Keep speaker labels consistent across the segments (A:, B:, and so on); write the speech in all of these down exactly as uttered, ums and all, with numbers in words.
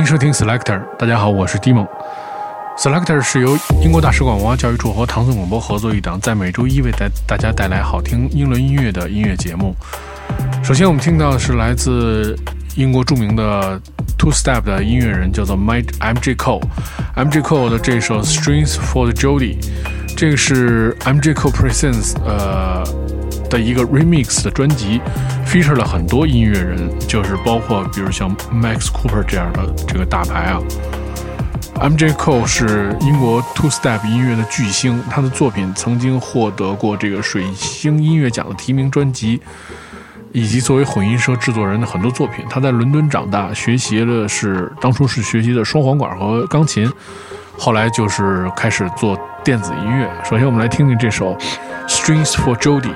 A: 迎收听 Selector， 大家好，我是 Dimon。Selector 是由英国大使馆文化教育处和唐宋广播合作一档，在每周一为大家带来好听英伦音乐的音乐节目。首先我们听到的是来自英国著名的 Two Step 的音乐人，叫做 M J Cole。M J Cole 的这首 Strings for the Jody， 这个是 M J Cole Presents 呃的一个 remix 的专辑， feature 了很多音乐人，就是包括比如像 Max Cooper 这样的这个大牌啊。M J Cole 是英国 Two Step 音乐的巨星，他的作品曾经获得过这个水星音乐奖的提名专辑，以及作为混音社制作人的很多作品。他在伦敦长大，学习的是当初是学习的双簧管和钢琴，后来就是开始做电子音乐。首先我们来听听这首 Strings for Jody。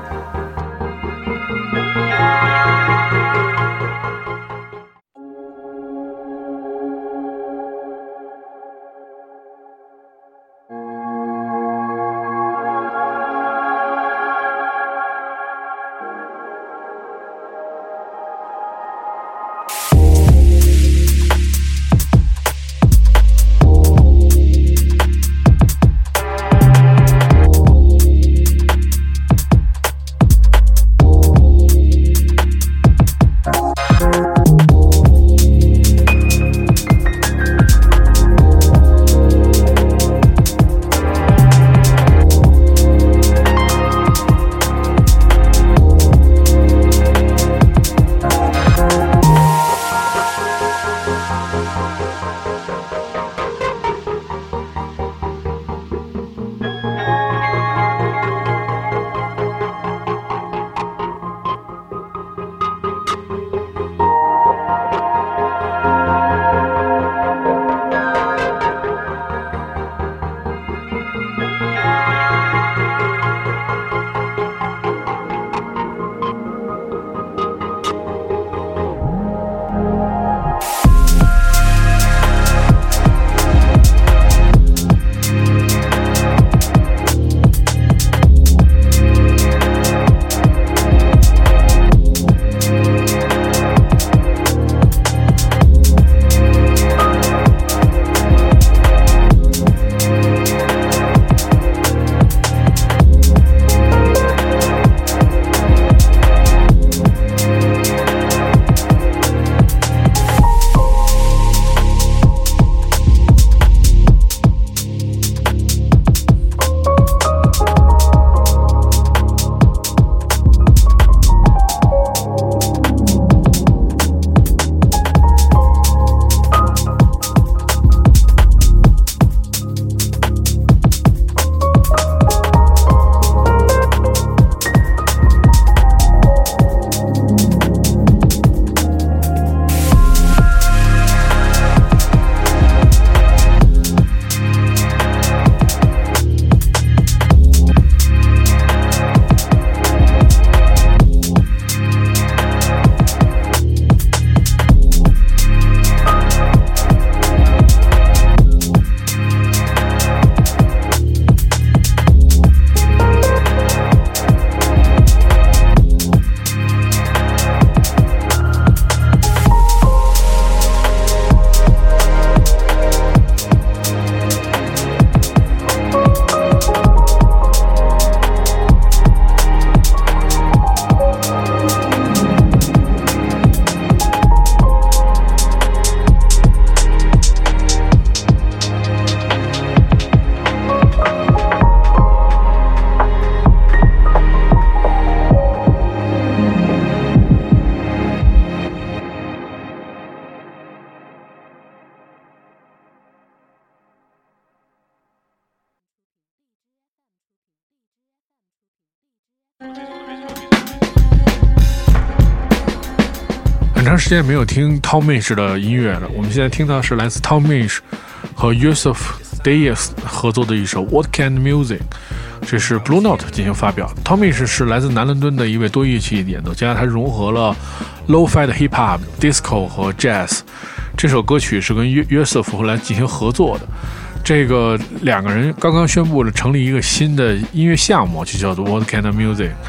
A: 很长时间没有听 Tom Misch 的音乐了，我们现在听到是来自 Tom Misch 和 Yusuf Dayes 合作的一首 What Kind of Music， 这是 Blue Note 进行发表。 Tom Misch 是来自南伦敦的一位多乐器演奏家，他融合了 Lo-Fi 的 Hip Hop、 Disco 和 Jazz。 这首歌曲是跟 Yusuf 后来进行合作的，这个两个人刚刚宣布了成立一个新的音乐项目，就叫做 What Kind of Music。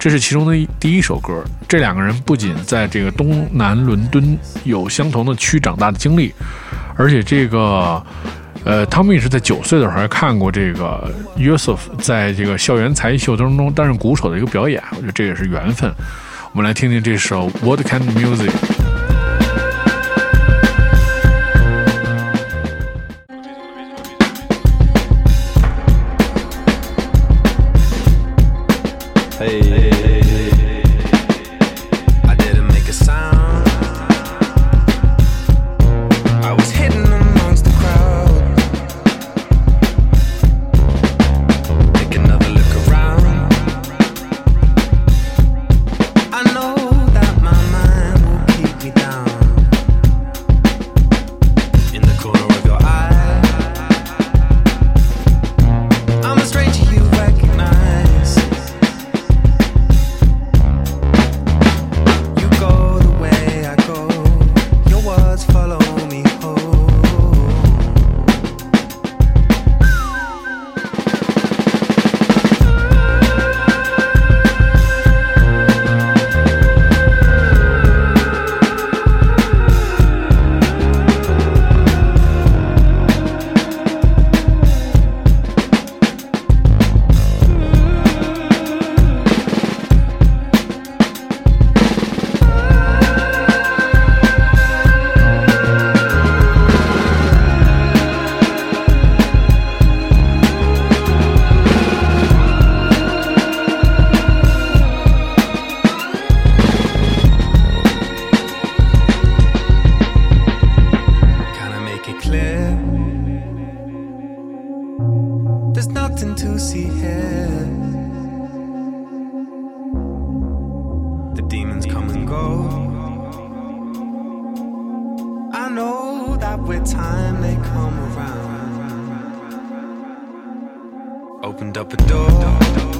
A: 这是其中的第一首歌。这两个人不仅在这个东南伦敦有相同的区长大的经历，而且这个呃，汤米是在九岁的时候还看过这个 Yusuf 在这个校园才艺秀当中担任鼓手的一个表演，我觉得这也是缘分。我们来听听这首 What Kind of
B: Music?Opened up a door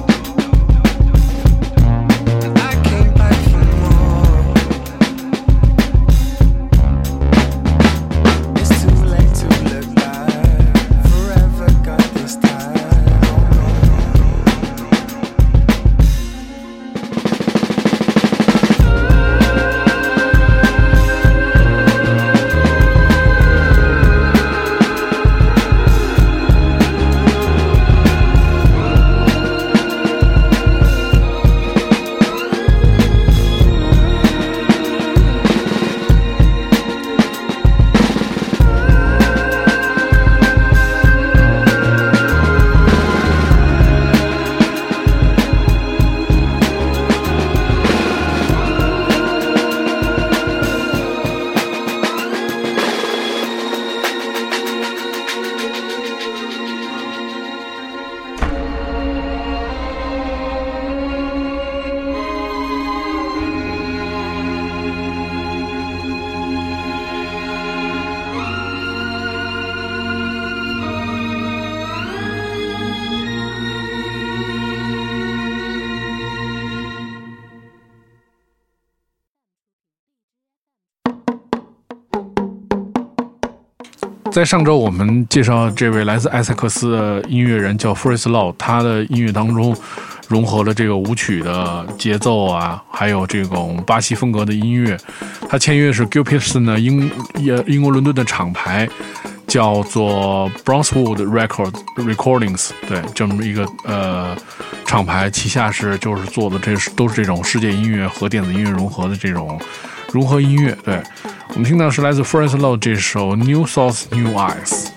B: and I came back for more. It's too late to look back. Forever got this time.
A: 在上周我们介绍这位来自埃塞克斯的音乐人叫 Forest Law， 他的音乐当中融合了这个舞曲的节奏啊，还有这种巴西风格的音乐。他签约是 Gilpison 的英英国伦敦的厂牌，叫做 Brownswood Record Recordings， 对，这么一个呃厂牌，旗下是就是做的这都是这种世界音乐和电子音乐融合的这种融合音乐。对，我们听到是来自 Forest Law 这首 New Thoughts New Eyes。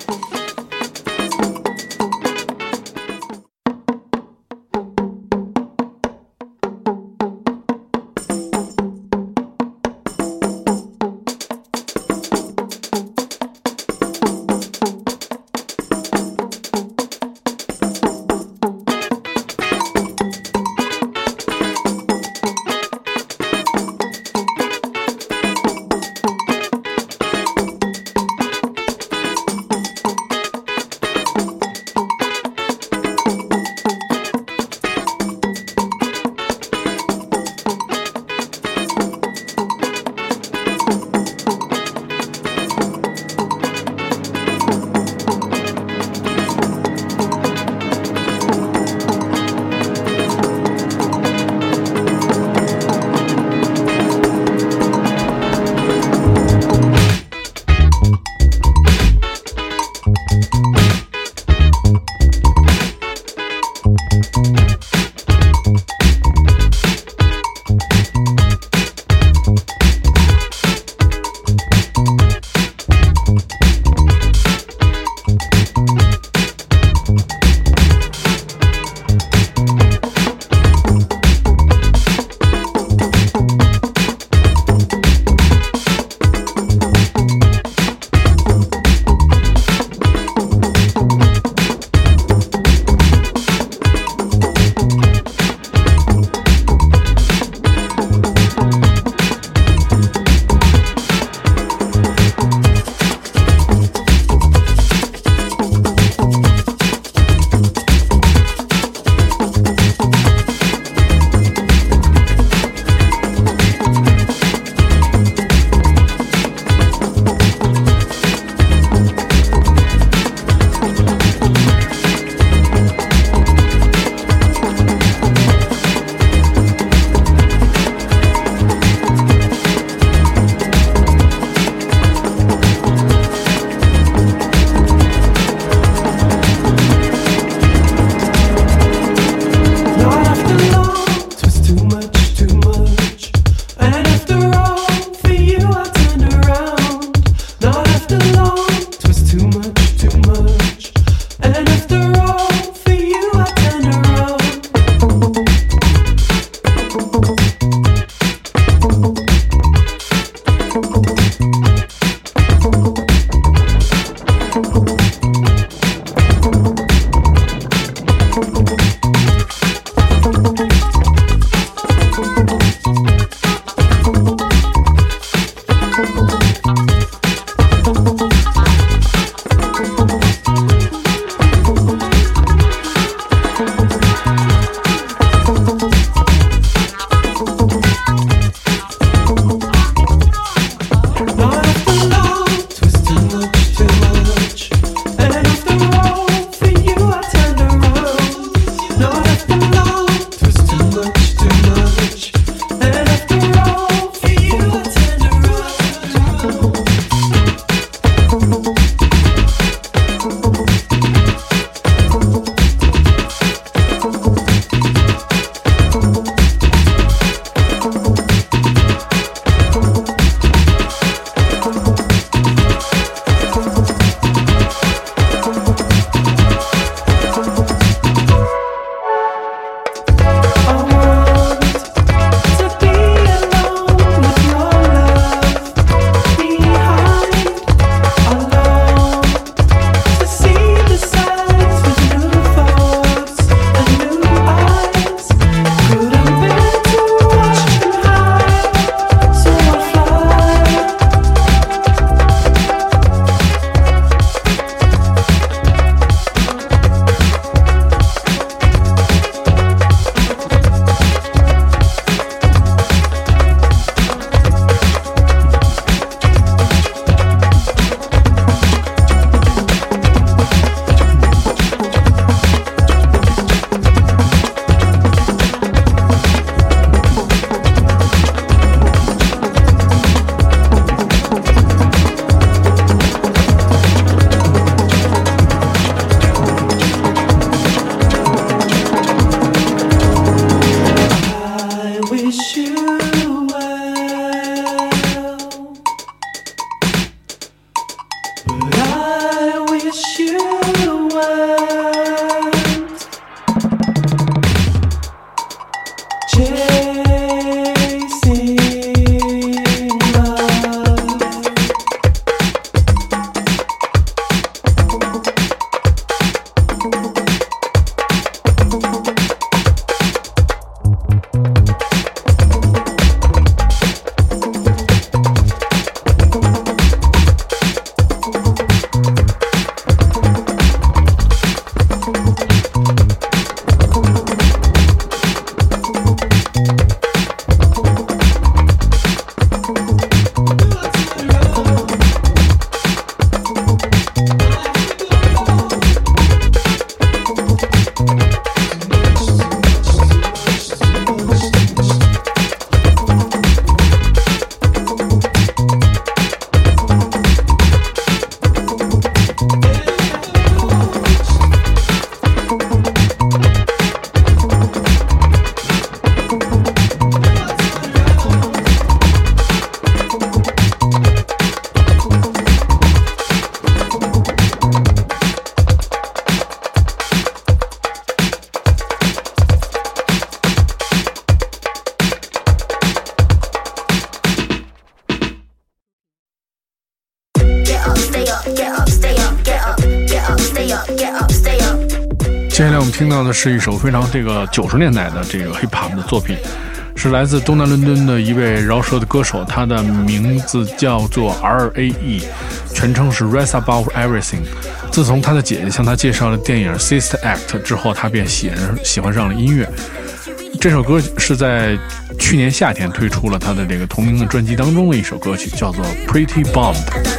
A: 接下来我们听到的是一首非常这个九十年代的这个 hip hop 的作品，是来自东南伦敦的一位饶舌的歌手，他的名字叫做 R A E， 全称是 Rap About Everything。自从他的姐姐向他介绍了电影 Sister Act 之后，他便喜喜欢上了音乐。这首歌是在去年夏天推出了他的这个同名的专辑当中的一首歌曲，叫做 Pretty Bomb。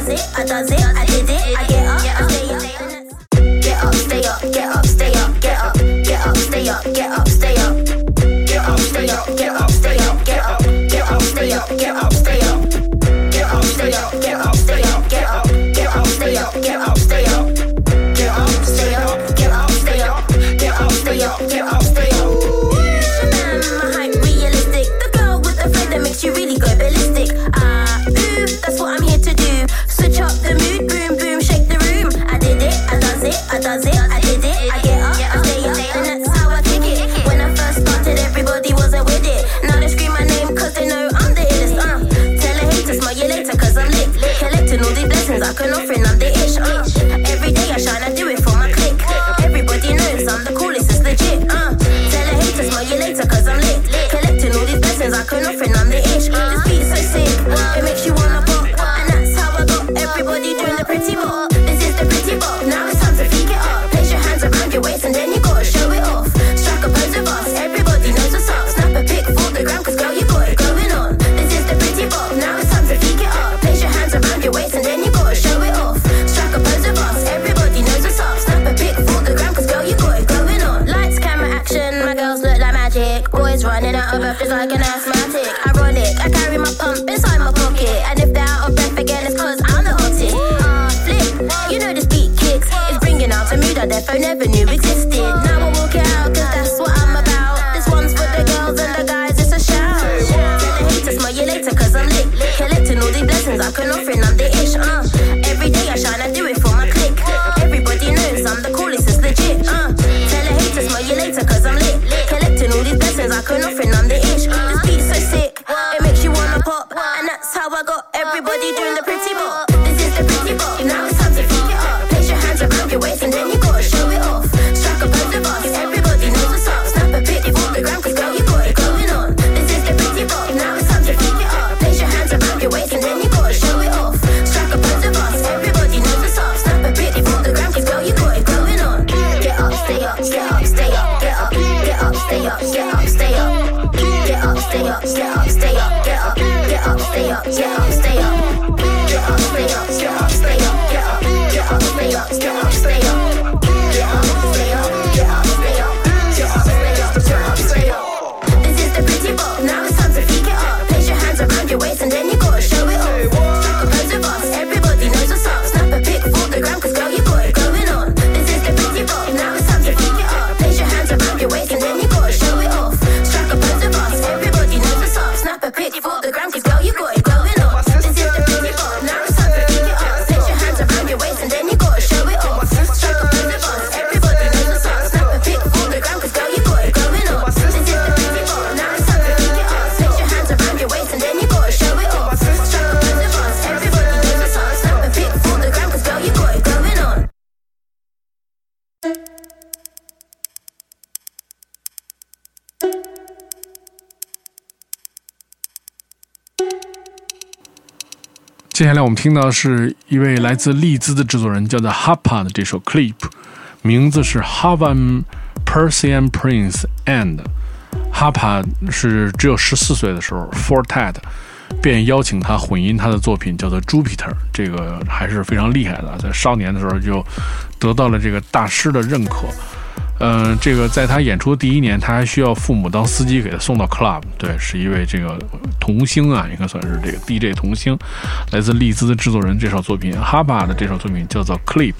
C: Like an asthmatic, ironic. I carry my pump inside my pocket, and if they're out of breath again, it's cause I'm the hottest. Ah, uh, flip, you know this beat kicks. It's bringing out a mood that their phone never knew existed. Now I walk it out, cause that's what I'm about. This one's for the girls and the guys, it's a shout. Tell the haters, smell you later, cause I'm lit. Collecting all these blessings I can offer, and I'm the ish. Uh, every day I shine, I do it for my clique. Everybody knows I'm the coolest, it's legit. Uh, tell the haters, smell you later, cause I'm lit. Collecting all these blessings I can offer, and I'm the ish. Everybody doing the pretty bop. This is the pretty bop. Now it's time to freak it up. Place your hands around your waist and then you gotta show it off. Strike a pose of us. Everybody knows what's up. Snap a pic for the gram, cause girl, you got it going on. This is the pretty bop. Now it's time to freak it up. Place your hands around your waist and then you gotta show it off. Strike a pose of us. Everybody knows what's up. Snap a pic for the gram, cause girl, you got it going on. Get up, stay up, get up, stay up, get up, get up, stay up, get up, stay up. Get up, stay up, get up, stay up, get up, get up, stay up, get up, stay up. Get up, stay up, get up, stay up, get up, get up, stay up, get up, stay up. Get up, stay up, get up, stay up, get up, stay up, get up, stay up. This is the pretty bop. Now it's time to freak it up. Place your hands around your waist and then you gotta show it off. Strike a pose of us. Everybody knows what's up. Snap a pic for the gram, cause girl, you got it going on. This is the pretty bop. Now it's time to freak it up. Place your hands around your waist and then you gotta show it off. Strike a pose of us. Everybody knows what's up. Snap a pic for the gram, cause girl, you got it going on. This is the pretty bop. Now it's time to freak it up. Place your hands around your waist and then you gotta show it off. Strike a pose of us. Everybody knows what's up. Snap a pic for the gram, cause girl, you got it going on. This is the pretty bop. Now it's time to freak it up. Place your hands around your waist and then you gotta show it off. Strike a pose of us. Everybody knows what's up. Snap a pic for the gram, cause girl, you got it going on.
A: 接下来我们听到的是一位来自利兹的制作人，叫做 Hapa 的这首 Clip， 名字是 Havan Persian Prince and。Hapa 是只有十四岁的时候 ，Fortet 便邀请他混音他的作品，叫做 Jupiter， 这个还是非常厉害的，在少年的时候就得到了这个大师的认可。嗯、呃，这个在他演出的第一年，他还需要父母当司机给他送到 club。对，是一位这个童星啊，应该算是这个 D J 童星，来自利兹的制作人。这首作品 ，Hapa 的这首作品叫做 Clip。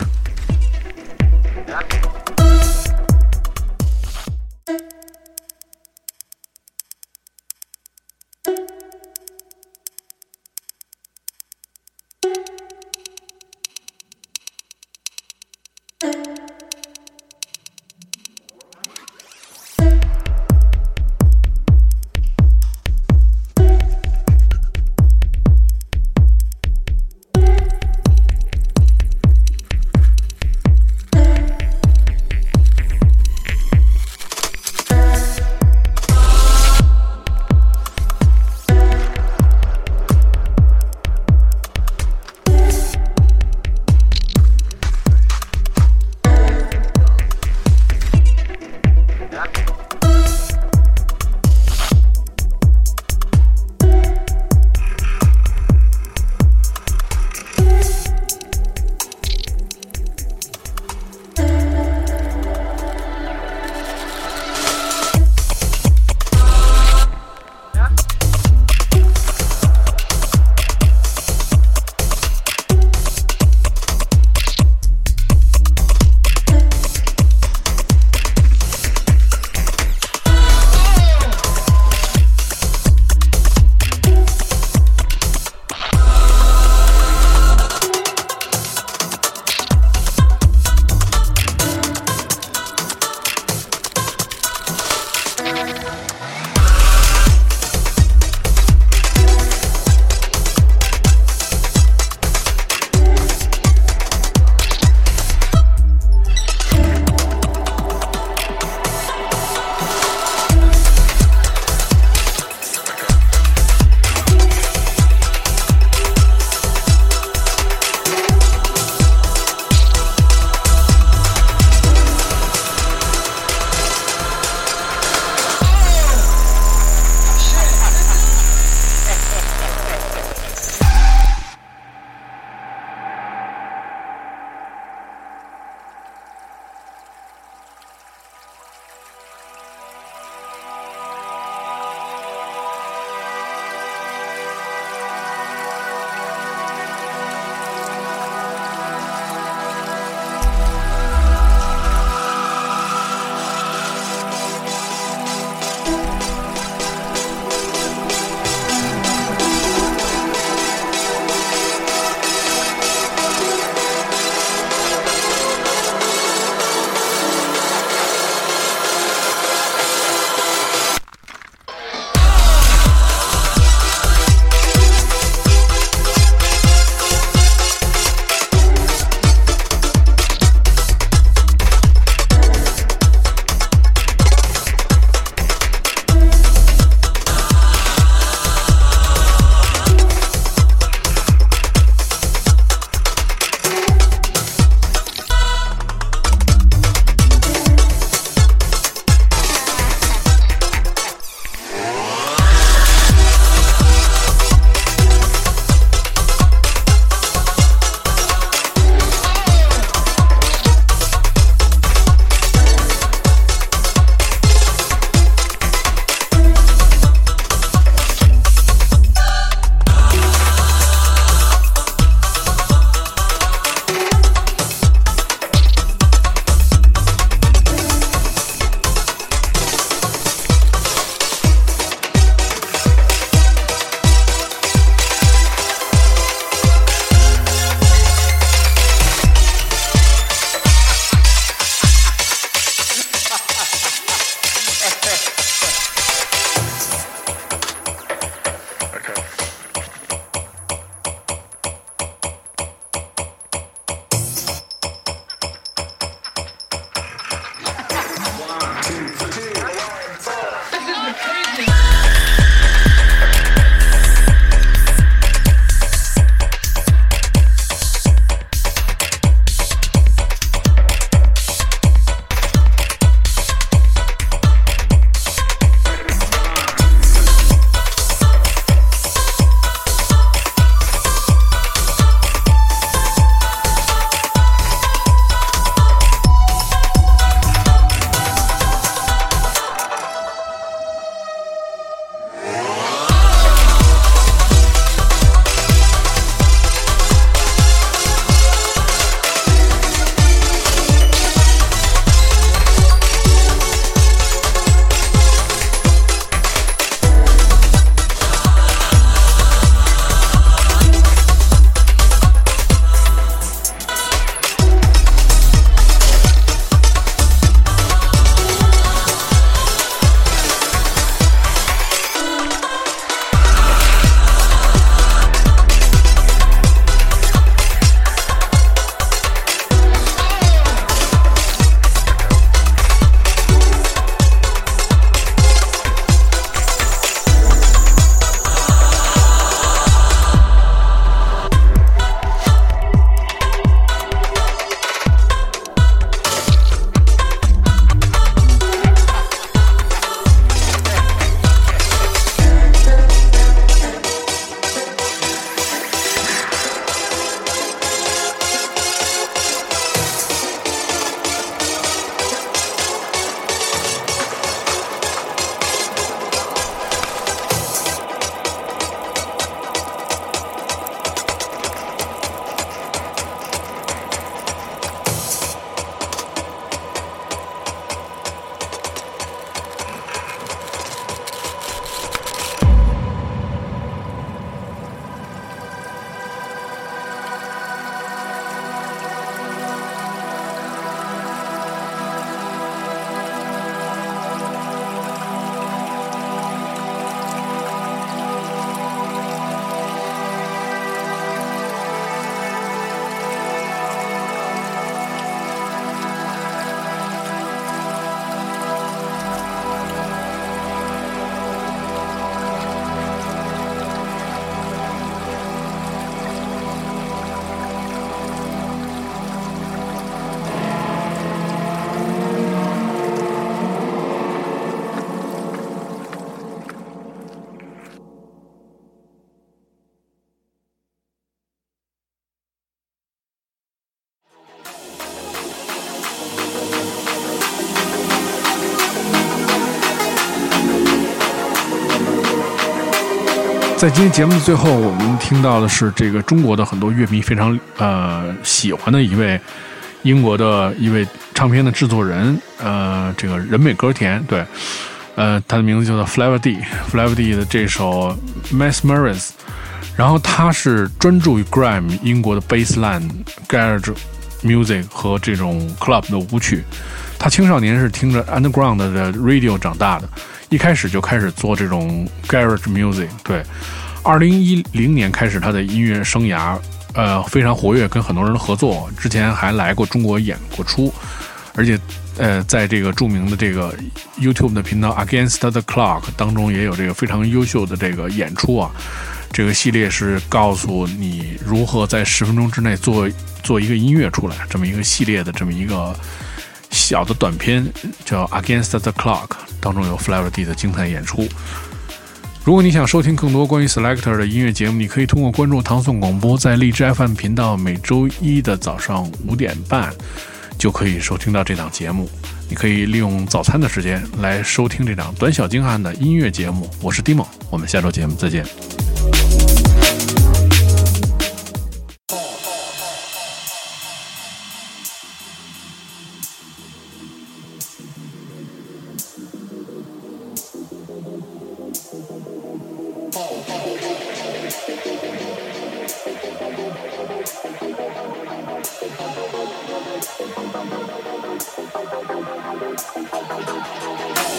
A: 在今天节目的最后，我们听到的是这个中国的很多乐迷非常呃喜欢的一位英国的一位唱片的制作人，呃，这个人美歌甜，对，呃，他的名字叫做 Flavor D，Flavor D 的这首 Mesmerize， 然后他是专注于 Grime 英国的 Bassline、Garage Music 和这种 Club 的舞曲。他青少年是听着 Underground 的 Radio 长大的，一开始就开始做这种 Garage Music。对，二零一零年开始他的音乐生涯，呃，非常活跃，跟很多人合作。之前还来过中国演过出，而且呃，在这个著名的这个 YouTube 的频道 Against the Clock 当中也有这个非常优秀的这个演出啊。这个系列是告诉你如何在十分钟之内做做一个音乐出来，这么一个系列的这么一个小的短片叫 Against the Clock， 当中有 Flavor D 的精彩演出。如果你想收听更多关于 Selector 的音乐节目，你可以通过关注唐宋广播，在荔枝 F M 频道每周一的早上五点半就可以收听到这档节目。你可以利用早餐的时间来收听这档短小精悍的音乐节目。我是 Dimo， 我们下周节目再见。
C: Thank you.